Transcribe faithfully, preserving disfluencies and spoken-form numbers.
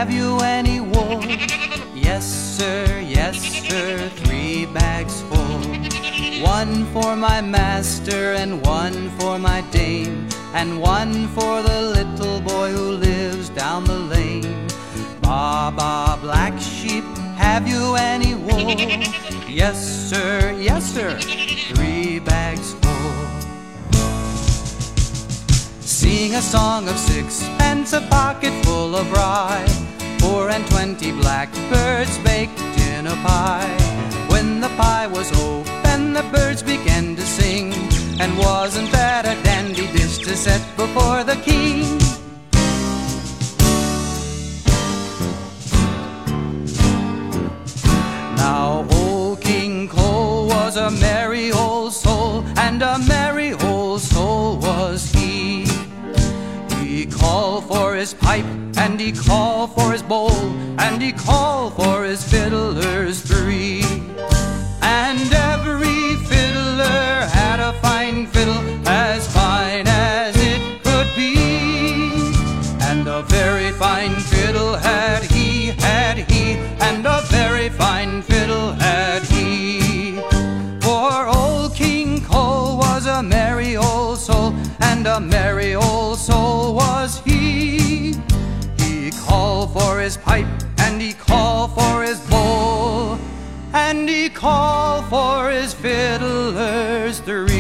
have you any wool? Yes, sir, yes, sir, three bags full. One for my master, and one for my dame, and one for the little boy who lives down the lane. Ba, ba, black sheep, have you any wool? Yes, sir, yes, sir, three bags full. Sing a song of sixpence, a pocket full of rye, four and twenty blackbirds baked in a pie. When the pie was open, the birds began to sing, and wasn't that a dandy dish to set before the king? Now old King Cole was a merry old soul, and a merry old soul was he. He called for his pipe, and he called for his bowl, and he called for his fiddlers three. And every fiddler had a fine fiddle, as fine as it could be. And a very fine fiddle had he, had he, and a very fine fiddle had he. For old King Cole was a merry old soul, and a merry old soul was he. He called for his pipe, and he called for his bowl, and he called for his fiddlers three.